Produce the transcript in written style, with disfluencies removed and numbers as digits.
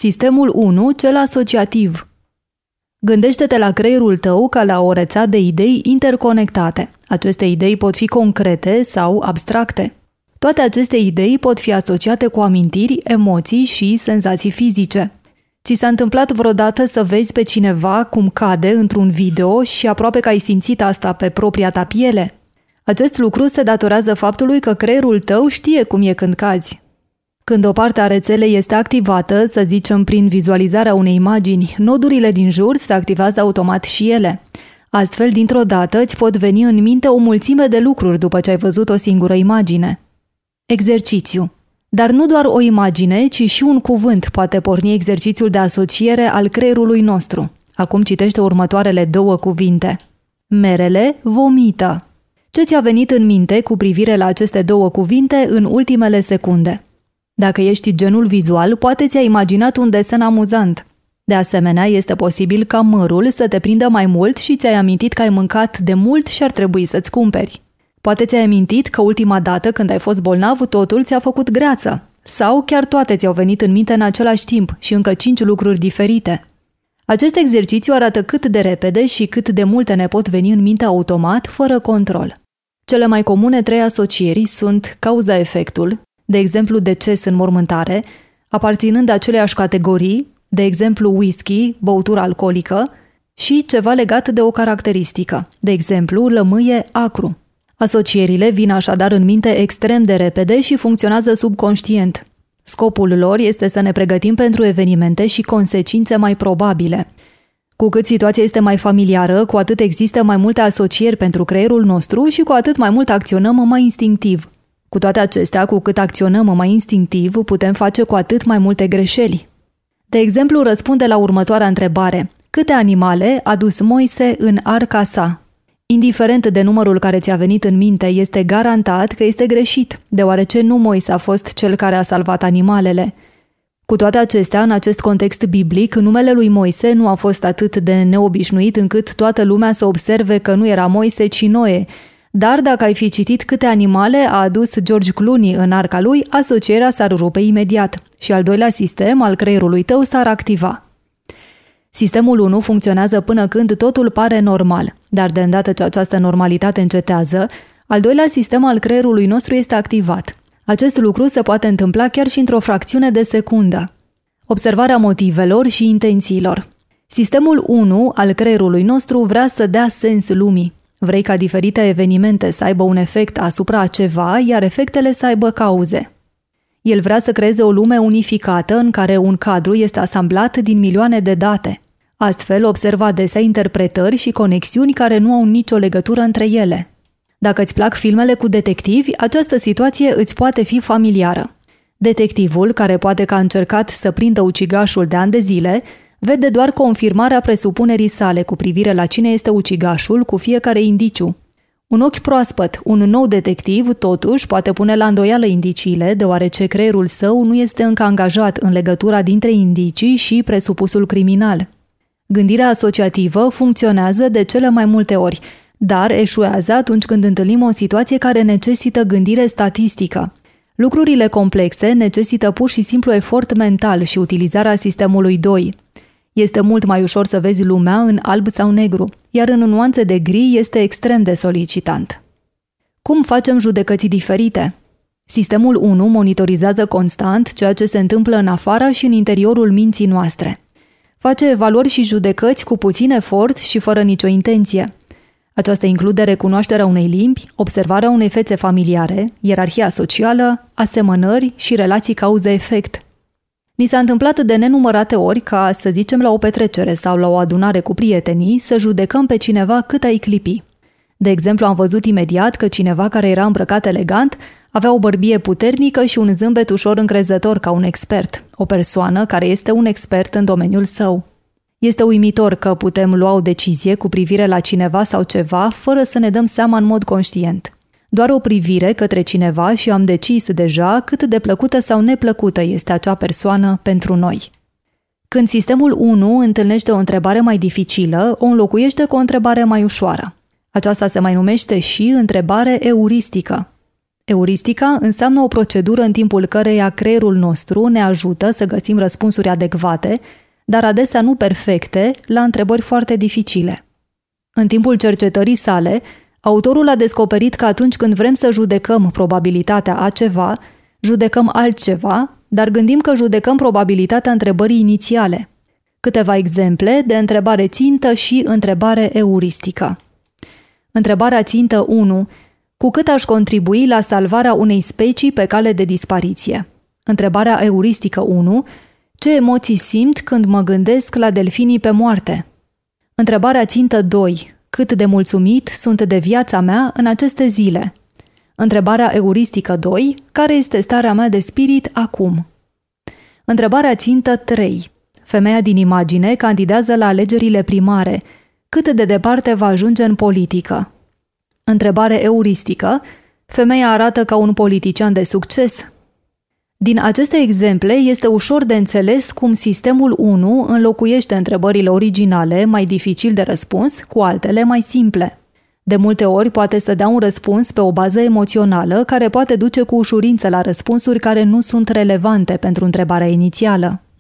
Sistemul 1, cel asociativ. Gândește-te la creierul tău ca la o rețea de idei interconectate. Aceste idei pot fi concrete sau abstracte. Toate aceste idei pot fi asociate cu amintiri, emoții și senzații fizice. Ți s-a întâmplat vreodată să vezi pe cineva cum cade într-un video și aproape că ai simțit asta pe propria ta piele? Acest lucru se datorează faptului că creierul tău știe cum e când cazi. Când o parte a rețelei este activată, să zicem prin vizualizarea unei imagini, nodurile din jur se activează automat și ele. Astfel, dintr-o dată, îți pot veni în minte o mulțime de lucruri după ce ai văzut o singură imagine. Exercițiu. Dar nu doar o imagine, ci și un cuvânt poate porni exercițiul de asociere al creierului nostru. Acum citește următoarele 2 cuvinte. Merele vomită. Ce ți-a venit în minte cu privire la aceste 2 cuvinte în ultimele secunde? Dacă ești genul vizual, poate ți-ai imaginat un desen amuzant. De asemenea, este posibil ca mărul să te prindă mai mult și ți-ai amintit că ai mâncat de mult și ar trebui să-ți cumperi. Poate ți-ai amintit că ultima dată când ai fost bolnav, totul ți-a făcut greață. Sau chiar toate ți-au venit în minte în același timp și încă 5 lucruri diferite. Acest exercițiu arată cât de repede și cât de multe ne pot veni în minte automat, fără control. Cele mai comune 3 asocieri sunt cauza-efectul, de exemplu deces în mormântare, aparținând aceleiași categorii, de exemplu whisky, băutură alcoolică, și ceva legat de o caracteristică, de exemplu lămâie acru. Asocierile vin așadar în minte extrem de repede și funcționează subconștient. Scopul lor este să ne pregătim pentru evenimente și consecințe mai probabile. Cu cât situația este mai familiară, cu atât există mai multe asocieri pentru creierul nostru și cu atât mai mult acționăm mai instinctiv. Cu toate acestea, cu cât acționăm mai instinctiv, putem face cu atât mai multe greșeli. De exemplu, răspunde la următoarea întrebare. Câte animale a dus Moise în arca sa? Indiferent de numărul care ți-a venit în minte, este garantat că este greșit, deoarece nu Moise a fost cel care a salvat animalele. Cu toate acestea, în acest context biblic, numele lui Moise nu a fost atât de neobișnuit încât toată lumea să observe că nu era Moise, ci Noe. Dar dacă ai fi citit câte animale a adus George Clooney în arca lui, asocierea s-ar rupe imediat și al doilea sistem al creierului tău s-ar activa. Sistemul 1 funcționează până când totul pare normal, dar de îndată ce această normalitate încetează, al doilea sistem al creierului nostru este activat. Acest lucru se poate întâmpla chiar și într-o fracțiune de secundă. Observarea motivelor și intențiilor. Sistemul 1 al creierului nostru vrea să dea sens lumii. Vrei ca diferite evenimente să aibă un efect asupra a ceva, iar efectele să aibă cauze. El vrea să creeze o lume unificată în care un cadru este asamblat din milioane de date. Astfel, observă adesea interpretări și conexiuni care nu au nicio legătură între ele. Dacă îți plac filmele cu detectivi, această situație îți poate fi familiară. Detectivul, care poate că a încercat să prindă ucigașul de ani de zile, vede doar confirmarea presupunerii sale cu privire la cine este ucigașul cu fiecare indiciu. Un ochi proaspăt, un nou detectiv, totuși, poate pune la îndoială indiciile, deoarece creierul său nu este încă angajat în legătura dintre indicii și presupusul criminal. Gândirea asociativă funcționează de cele mai multe ori, dar eșuează atunci când întâlnim o situație care necesită gândire statistică. Lucrurile complexe necesită pur și simplu efort mental și utilizarea sistemului 2. Este mult mai ușor să vezi lumea în alb sau negru, iar în nuanțe de gri este extrem de solicitant. Cum facem judecăți diferite? Sistemul 1 monitorizează constant ceea ce se întâmplă în afara și în interiorul minții noastre. Face evaluări și judecăți cu puțin efort și fără nicio intenție. Aceasta include recunoașterea unei limbi, observarea unei fețe familiare, ierarhia socială, asemănări și relații cauză-efect. Ni s-a întâmplat de nenumărate ori ca, să zicem, la o petrecere sau la o adunare cu prietenii, să judecăm pe cineva cât ai clipi. De exemplu, am văzut imediat că cineva care era îmbrăcat elegant avea o bărbie puternică și un zâmbet ușor încrezător ca un expert, o persoană care este un expert în domeniul său. Este uimitor că putem lua o decizie cu privire la cineva sau ceva fără să ne dăm seama în mod conștient. Doar o privire către cineva și am decis deja cât de plăcută sau neplăcută este acea persoană pentru noi. Când sistemul 1 întâlnește o întrebare mai dificilă, o înlocuiește cu o întrebare mai ușoară. Aceasta se mai numește și întrebare euristică. Euristica înseamnă o procedură în timpul căreia creierul nostru ne ajută să găsim răspunsuri adecvate, dar adesea nu perfecte, la întrebări foarte dificile. În timpul cercetării sale, autorul a descoperit că atunci când vrem să judecăm probabilitatea a ceva, judecăm altceva, dar gândim că judecăm probabilitatea întrebării inițiale. Câteva exemple de întrebare țintă și întrebare euristică. Întrebarea țintă 1. Cu cât aș contribui la salvarea unei specii pe cale de dispariție? Întrebarea euristică 1. Ce emoții simt când mă gândesc la delfinii pe moarte? Întrebarea țintă 2. Cât de mulțumit sunt de viața mea în aceste zile? Întrebarea euristică 2. Care este starea mea de spirit acum? Întrebarea țintă 3. Femeia din imagine candidează la alegerile primare. Cât de departe va ajunge în politică? Întrebare euristică. Femeia arată ca un politician de succes? Din aceste exemple este ușor de înțeles cum sistemul 1 înlocuiește întrebările originale, mai dificil de răspuns, cu altele mai simple. De multe ori poate să dea un răspuns pe o bază emoțională care poate duce cu ușurință la răspunsuri care nu sunt relevante pentru întrebarea inițială.